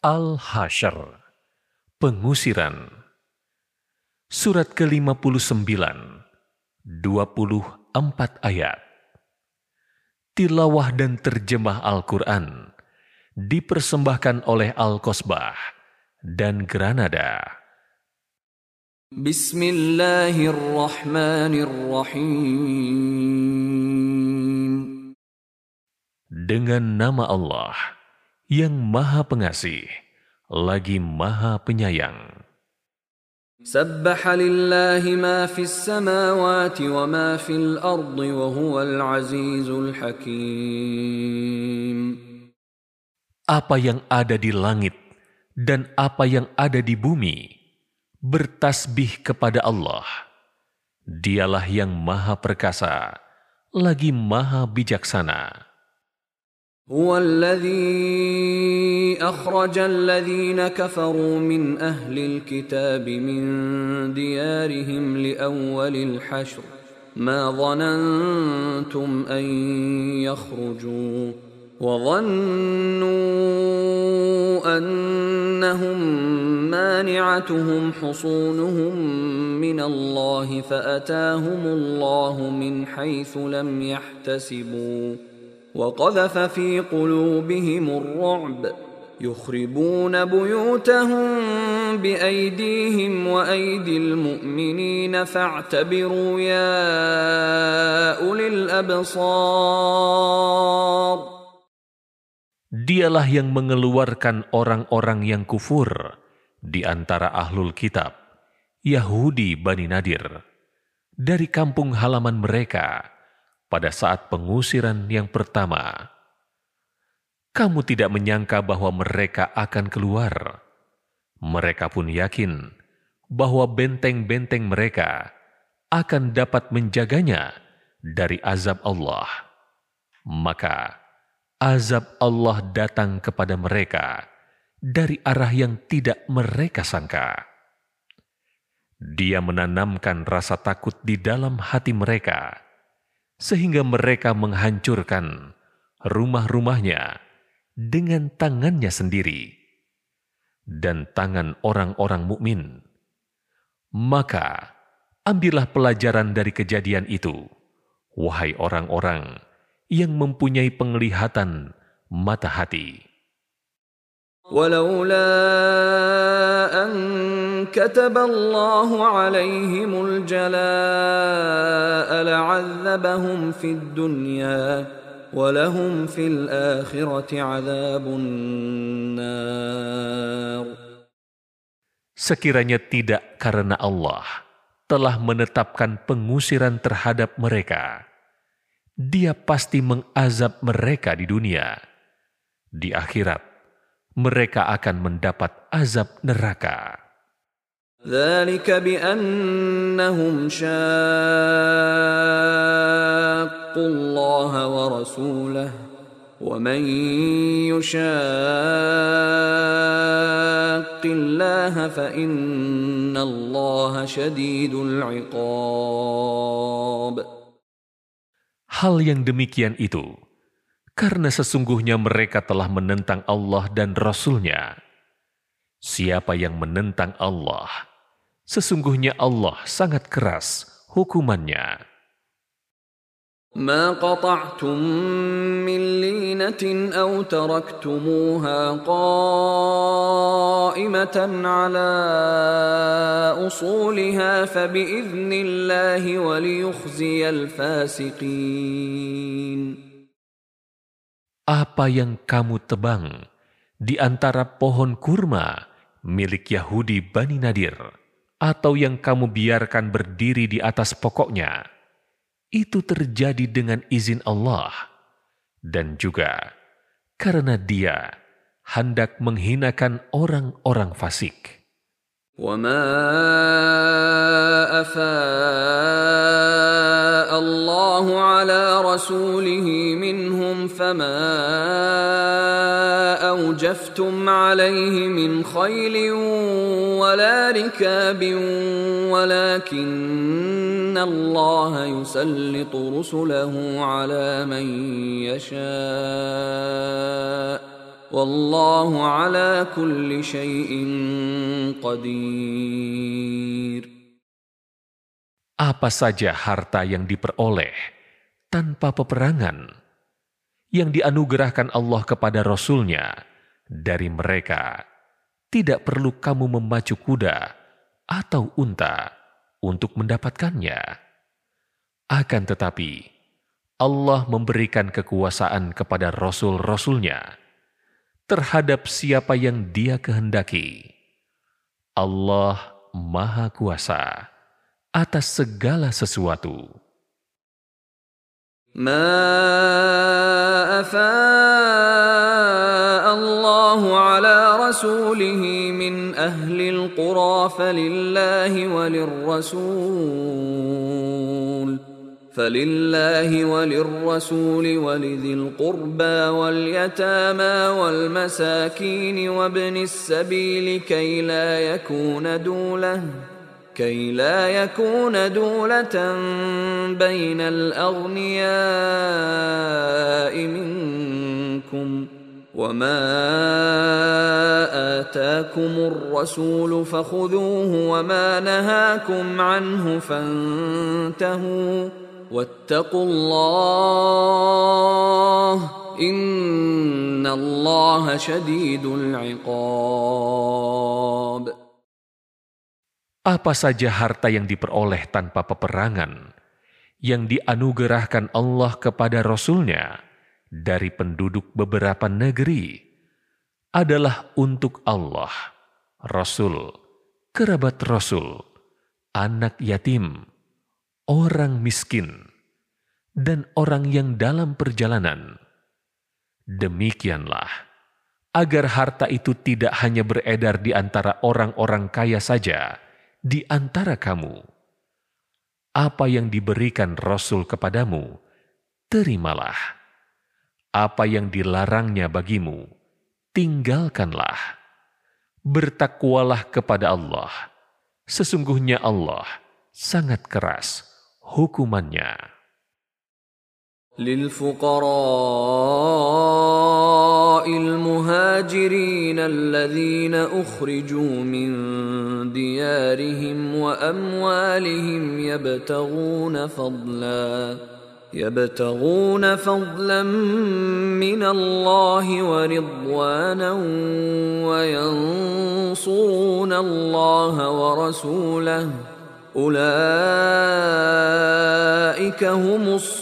Al-Hasyr, pengusiran. Surat ke-59, 24 ayat. Tilawah dan terjemah Al-Quran dipersembahkan oleh Al-Qasbah dan Granada. Bismillahirrahmanirrahim. Dengan nama Allah yang Maha Pengasih, lagi Maha Penyayang. Sabbaha lillahi ma fis samawati wa ma fil ardi wa huwal azizul hakim. Apa yang ada di langit dan apa yang ada di bumi bertasbih kepada Allah. Dialah yang Maha Perkasa, lagi Maha Bijaksana. هو الذي أخرج الذين كفروا من أهل الكتاب من ديارهم لأول الحشر ما ظننتم أن يخرجوا وظنوا أنهم مانعتهم حصونهم من الله فأتاهم الله من حيث لم يحتسبوا وقذف في قلوبهم الرعب يخربون بيوتهم بأيديهم وأيدي المؤمنين فاعتبروا يا أولي الأبصار. Dialah yang mengeluarkan orang-orang yang kufur di antara ahlul kitab, Yahudi Bani Nadir, dari kampung halaman mereka pada saat pengusiran yang pertama. Kamu tidak menyangka bahwa mereka akan keluar. Mereka pun yakin bahwa benteng-benteng mereka akan dapat menjaganya dari azab Allah. Maka azab Allah datang kepada mereka dari arah yang tidak mereka sangka. Dia menanamkan rasa takut di dalam hati mereka, sehingga mereka menghancurkan rumah-rumahnya dengan tangannya sendiri dan tangan orang-orang mukmin. Maka ambillah pelajaran dari kejadian itu, wahai orang-orang yang mempunyai penglihatan mata hati. ولولا أن كتب الله عليهم الجلاء لعذبهم في الدنيا ولهم في الآخرة عذاب النار. Sekiranya tidak karena Allah telah menetapkan pengusiran terhadap mereka, Dia pasti mengazab mereka di dunia. Di akhirat mereka akan mendapat azab neraka. ذلك بأنهم شاقوا الله ورسوله ومن يشاق الله فإن الله شديد العقاب. Hal yang demikian itu karena sesungguhnya mereka telah menentang Allah dan Rasul-Nya. Siapa yang menentang Allah, sesungguhnya Allah sangat keras hukumannya. ما قطعتم من لينة أو تركتموها قائمة على أصولها فبإذن الله وليخزي الفاسقين. Apa yang kamu tebang di antara pohon kurma milik Yahudi Bani Nadir, atau yang kamu biarkan berdiri di atas pokoknya, itu terjadi dengan izin Allah, dan juga karena Dia hendak menghinakan orang-orang fasik. وما أفاء الله على رسوله منهم فما أوجفتم عليه من خيل ولا ركاب ولكن الله يسلط رسله على من يشاء wallahu ala kulli syai'in qadir. Apa saja harta yang diperoleh tanpa peperangan, yang dianugerahkan Allah kepada Rasul-Nya dari mereka, tidak perlu kamu memacu kuda atau unta untuk mendapatkannya. Akan tetapi, Allah memberikan kekuasaan kepada Rasul-Rasul-Nya terhadap siapa yang Dia kehendaki. Allah Maha Kuasa atas segala sesuatu. ما أفاء الله على رسوله من أهل القرى فلله وللرسول ولذي القربى واليتامى والمساكين وابن السبيل كي لا يكون دولة بين الأغنياء منكم وما آتاكم الرسول فخذوه وما نهاكم عنه فانتهوا واتقوا الله إن الله شديد العقاب. Apa saja harta yang diperoleh tanpa peperangan, yang dianugerahkan Allah kepada Rasul-Nya dari penduduk beberapa negeri, adalah untuk Allah, Rasul, kerabat Rasul, anak yatim, orang miskin, dan orang yang dalam perjalanan. Demikianlah, agar harta itu tidak hanya beredar di antara orang-orang kaya saja, di antara kamu. Apa yang diberikan Rasul kepadamu, terimalah. Apa yang dilarangnya bagimu, tinggalkanlah. Bertakwalah kepada Allah. Sesungguhnya Allah sangat keras hukumannya. للفقراء المهاجرين الذين أخرجوا من ديارهم وأموالهم يبتغون فضلا من الله ورضوانا وينصرون الله ورسوله أولئك هم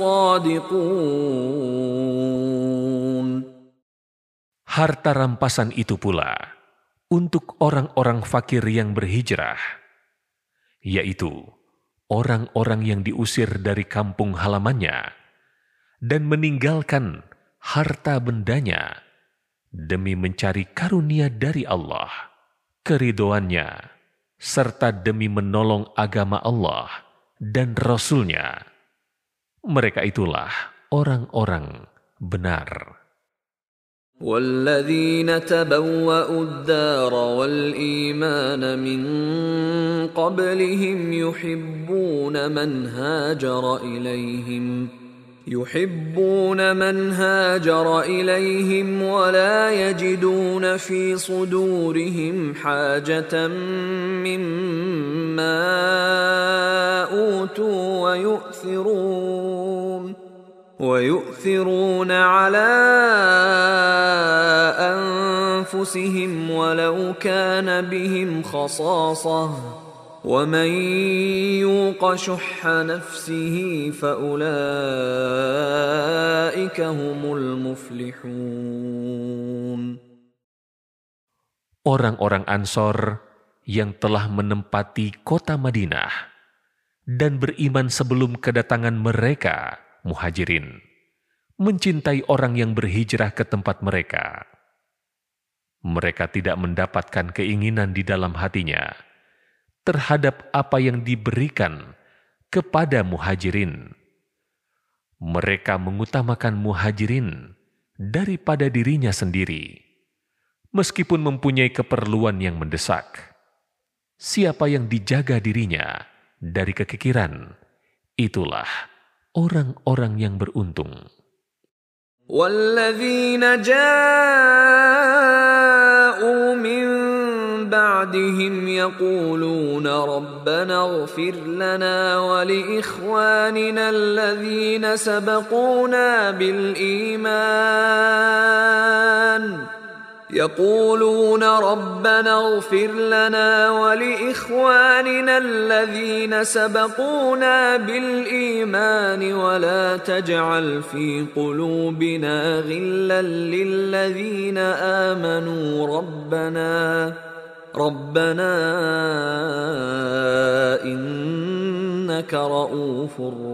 الصادقون. Harta rampasan itu pula untuk orang-orang fakir yang berhijrah, yaitu orang-orang yang diusir dari kampung halamannya dan meninggalkan harta bendanya demi mencari karunia dari Allah, keridhoannya, serta demi menolong agama Allah dan Rasul-Nya. Mereka itulah orang-orang benar. وَالَّذِينَ تَبَوَّأُوا الدَّارَ وَالْإِيمَانَ مِنْ قَبْلِهِمْ يحبون من هاجر إليهم ولا يجدون في صدورهم حاجة مما أوتوا ويؤثرون على أنفسهم ولو كان بهم خصاصة ومن يوق شح نفسه فأولئك هم المفلحون. Orang-orang Ansor yang telah menempati kota Madinah dan beriman sebelum kedatangan mereka, Muhajirin, mencintai orang yang berhijrah ke tempat mereka. Mereka tidak mendapatkan keinginan di dalam hatinya terhadap apa yang diberikan kepada Muhajirin. Mereka mengutamakan Muhajirin daripada dirinya sendiri, meskipun mempunyai keperluan yang mendesak. Siapa yang dijaga dirinya dari kekikiran, itulah orang-orang yang beruntung. والذين جاءوا من بعدهم يقولون ربنا اغفر لنا ولإخواننا الذين سبقونا بالإيمان ولا تجعل في قلوبنا غلا للذين آمنوا ربنا إنك رؤوف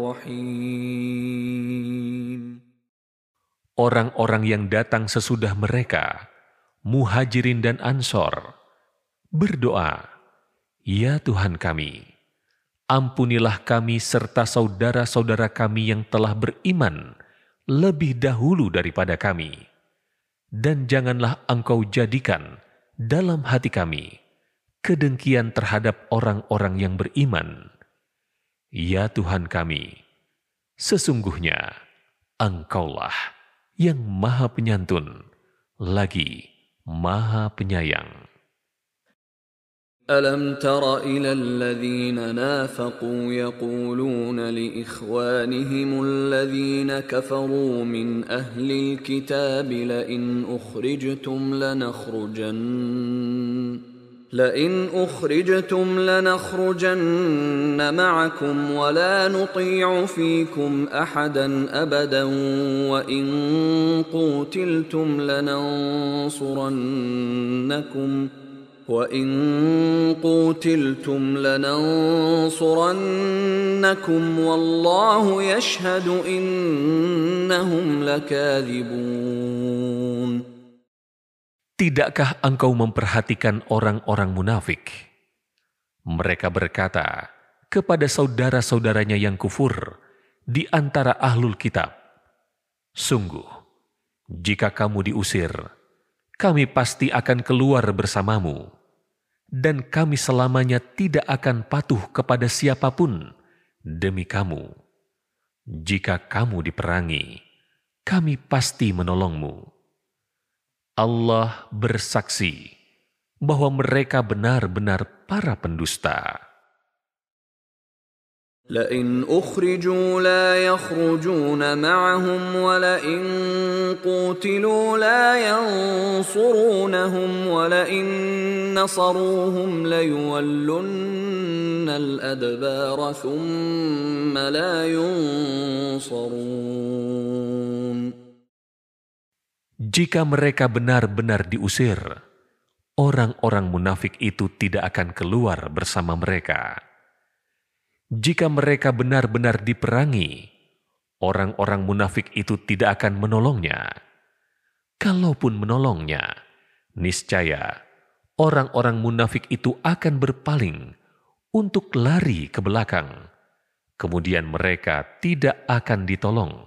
رحيم. Orang-orang yang datang sesudah mereka, Muhajirin dan Ansor, berdoa, "Ya Tuhan kami, ampunilah kami serta saudara-saudara kami yang telah beriman lebih dahulu daripada kami. Dan janganlah Engkau jadikan dalam hati kami kedengkian terhadap orang-orang yang beriman. Ya Tuhan kami, sesungguhnya Engkaulah yang Maha Penyantun, lagi Maha Penyayang." ألم تر إلى الذين نافقوا يقولون لإخوانهم الذين كفروا من أهل الكتاب لئن أخرجتم لنخرجن معكم ولا نطيع فيكم أحدا أبدا وإن قوتلتم لننصرنكم والله يشهد إنهم لكاذبون. Tidakkah engkau memperhatikan orang-orang munafik? Mereka berkata kepada saudara-saudaranya yang kufur di antara ahlul kitab, "Sungguh, jika kamu diusir, kami pasti akan keluar bersamamu, dan kami selamanya tidak akan patuh kepada siapapun demi kamu. Jika kamu diperangi, kami pasti menolongmu." Allah bersaksi bahwa mereka benar-benar para pendusta. لئن أخرجوا لا يخرجون معهم ولئن قوتلوا لا ينصرونهم ولئن نصروهم ليولن الأدبار ثم لا ينصرون. Jika mereka benar-benar diusir, orang-orang munafik itu tidak akan keluar bersama mereka. Jika mereka benar-benar diperangi, orang-orang munafik itu tidak akan menolongnya. Kalaupun menolongnya, niscaya orang-orang munafik itu akan berpaling untuk lari ke belakang. Kemudian mereka tidak akan ditolong.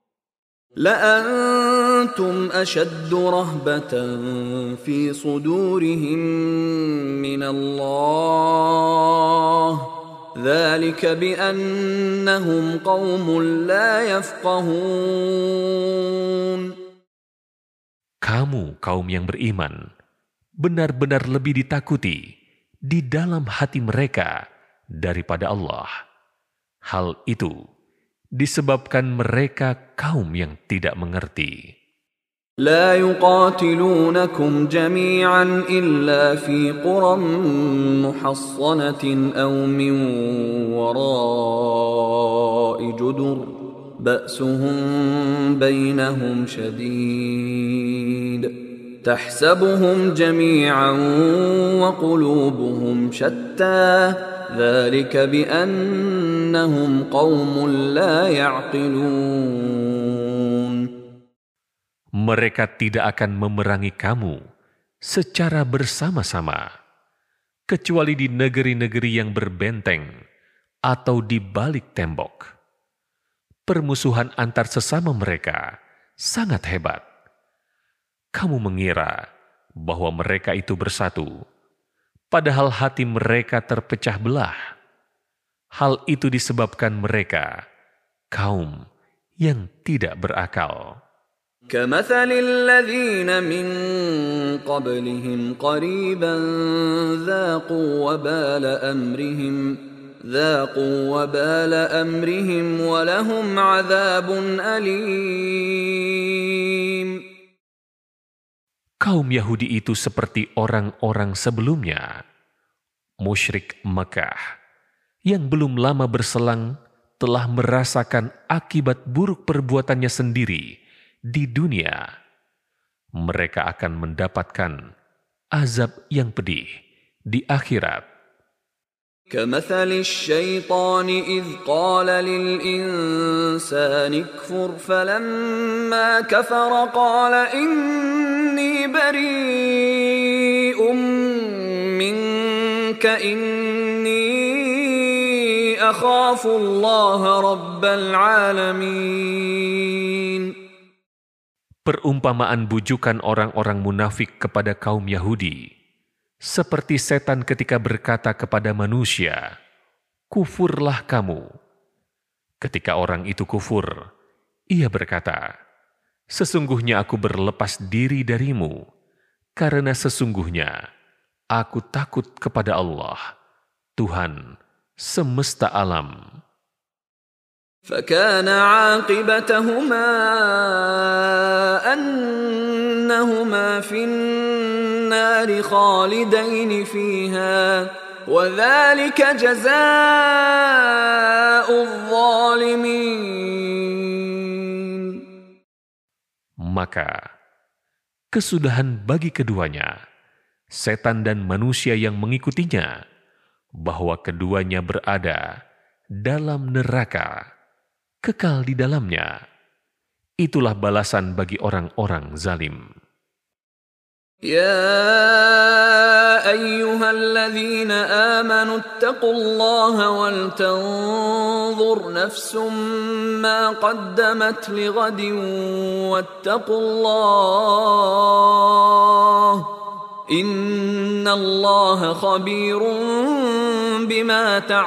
لأنتم أشد رهبة في صدورهم من الله ذلك بأنهم قوم لا يفقهون. Kamu kaum yang beriman benar-benar lebih ditakuti di dalam hati mereka daripada Allah. Hal itu disebabkan mereka kaum yang tidak mengerti. لا يقاتلونكم جميعا إلا في قرى محصنة أو من وراء جدر بأسهم بينهم شديد تحسبهم جميعا وقلوبهم شتى ذلك بأنهم قوم لا يعقلون. Mereka tidak akan memerangi kamu secara bersama-sama, kecuali di negeri-negeri yang berbenteng atau di balik tembok. Permusuhan antar sesama mereka sangat hebat. Kamu mengira bahwa mereka itu bersatu, padahal hati mereka terpecah belah. Hal itu disebabkan mereka kaum yang tidak berakal. كمثل الذين من قبلهم قريبا ذاقوا وبال أمرهم ولهم عذاب أليم. Kaum Yahudi itu seperti orang-orang sebelumnya, musyrik Mekah, yang belum lama berselang telah merasakan akibat buruk perbuatannya sendiri di dunia. Mereka akan mendapatkan azab yang pedih di akhirat. كمثل الشيطان إذ قال للإنسان اكفر فلما كفر قال إني بريء منك إني أخاف الله رب العالمين. Perumpamaan bujukan orang-orang munafik kepada kaum Yahudi, seperti setan ketika berkata kepada manusia, "Kufurlah kamu." Ketika orang itu kufur, ia berkata, "Sesungguhnya aku berlepas diri darimu, karena sesungguhnya aku takut kepada Allah, Tuhan semesta alam." فكان عاقبتهما أنهما في النار خالدين فيها وذلك جزاء الظالمين. Maka kesudahan bagi keduanya, setan dan manusia yang mengikutinya, bahwa keduanya berada dalam neraka, kekal di dalamnya. Itulah balasan bagi orang-orang zalim. يا أيها الذين آمنوا اتقوا الله ولتنظر نفس ما قدمت لغد واتقوا الله إن الله خبير بما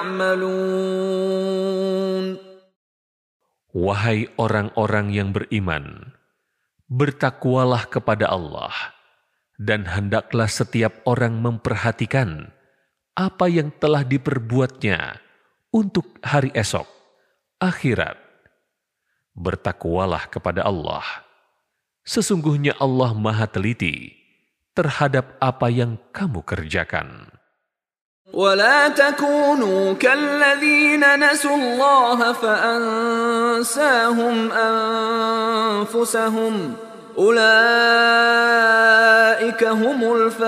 تعملون. Wahai orang-orang yang beriman, bertakwalah kepada Allah, dan hendaklah setiap orang memperhatikan apa yang telah diperbuatnya untuk hari esok, akhirat. Bertakwalah kepada Allah. Sesungguhnya Allah Maha Teliti terhadap apa yang kamu kerjakan. ولا تكونوا كالذين نسوا الله فأنساهم أنفسهم أولئك هم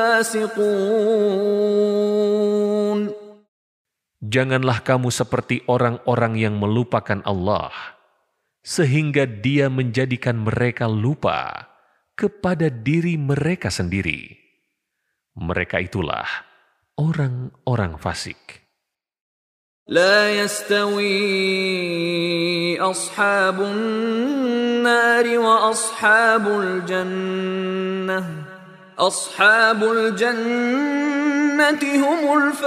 الفاسقون. Janganlah kamu seperti orang-orang yang melupakan Allah, sehingga Dia menjadikan mereka lupa kepada diri mereka sendiri. Mereka itulah orang-orang fasik. لا يستوي أصحاب النار وأصحاب الجنة أصحاب الجنة هم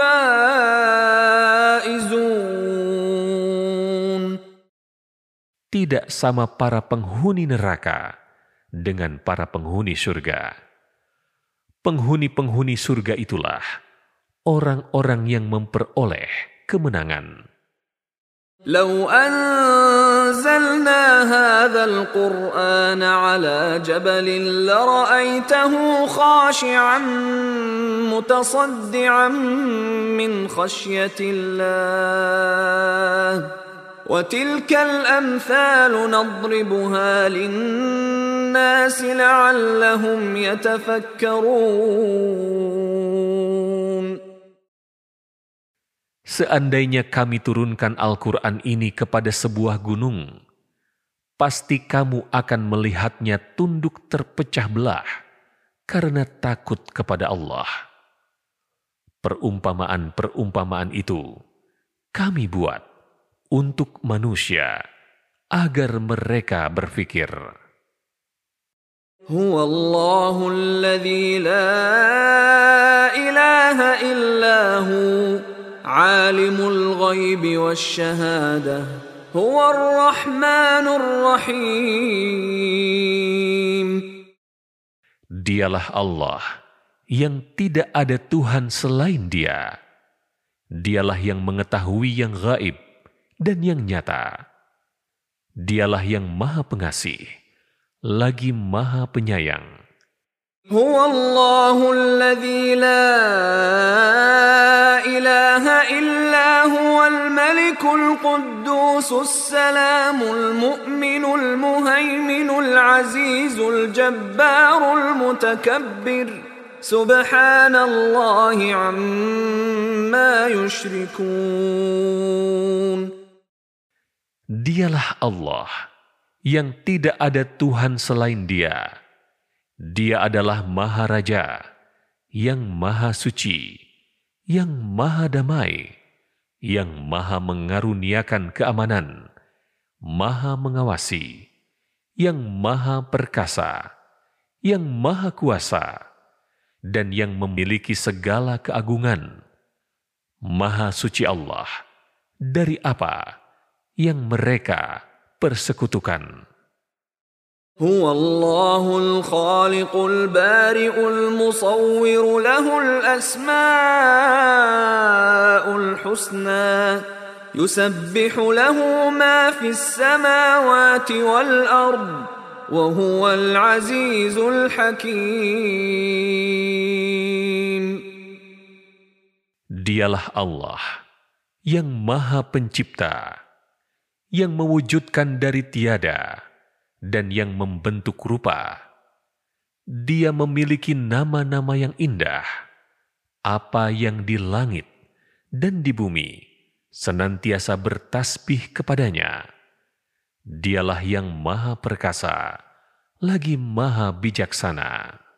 الفائزون. Tidak sama para penghuni neraka dengan para penghuni surga. Penghuni-penghuni surga itulah orang-orang yang memperoleh kemenangan. لو أنزلنا هذا القرآن على جبل لرأيته خاشعا متصدعا من خشية الله وتلك الأمثال نضربها للناس لعلهم يتفكرون. Seandainya kami turunkan Al-Quran ini kepada sebuah gunung, pasti kamu akan melihatnya tunduk terpecah belah karena takut kepada Allah. Perumpamaan-perumpamaan itu kami buat untuk manusia agar mereka berfikir. Huwa Allahul ladzi la ilaha illahu alimul ghaibi wasyahadah huwar rahmanur rahim. Dialah Allah yang tidak ada Tuhan selain Dia. Dialah yang mengetahui yang gaib dan yang nyata. Dialah yang Maha Pengasih, lagi Maha Penyayang. هو الله الذي لا إله إلا هو الملك القدوس السلام المؤمن المهيمن العزيز الجبار المتكبر سبحان الله عما يشركون. Dialah Allah yang tidak ada Tuhan selain Dia. Dia adalah Maha Raja, yang Maha Suci, yang Maha Damai, yang Maha mengaruniakan keamanan, Maha Mengawasi, yang Maha Perkasa, yang Maha Kuasa, dan yang memiliki segala keagungan. Maha Suci Allah dari apa yang mereka persekutukan. هو الله الخالق البارئ المصور له الأسماء الحسنى يسبح له ما في السماوات والأرض وهو العزيز الحكيم. Dialah Allah yang Maha Pencipta, yang mewujudkan dari tiada dan yang membentuk rupa. Dia memiliki nama-nama yang indah. Apa yang di langit dan di bumi senantiasa bertasbih kepadanya. Dialah yang Maha Perkasa, lagi Maha Bijaksana.